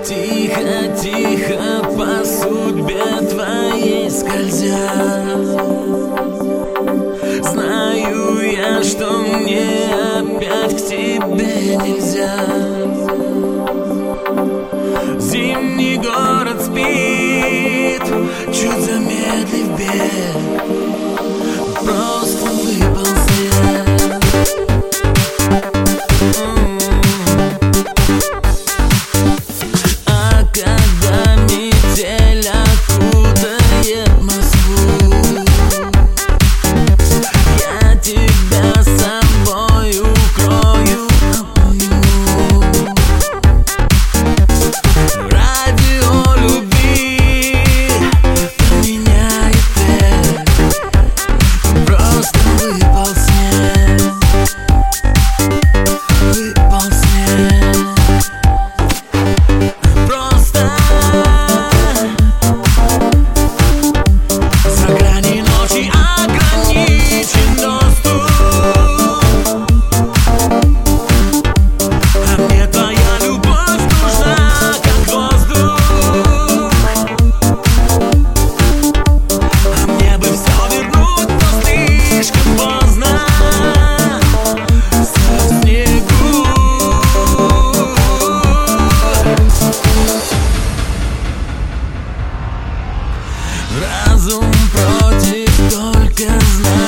Тихо, тихо по судьбе твоей скользя. Знаю я, что мне опять к тебе нельзя. Зимний город спит, чуть замедлив бег, просто выпал снег. А когда метель окутает Москву, я тебя с собой укрою, обниму. Радио любви поменяет трек, просто выпал снег, выпал снег. Просто за грани ночи ограничен доступ, а мне твоя любовь нужна, как воздух. А мне бы все вернуть, но слишком поздно. Со снегу разум против, только знай.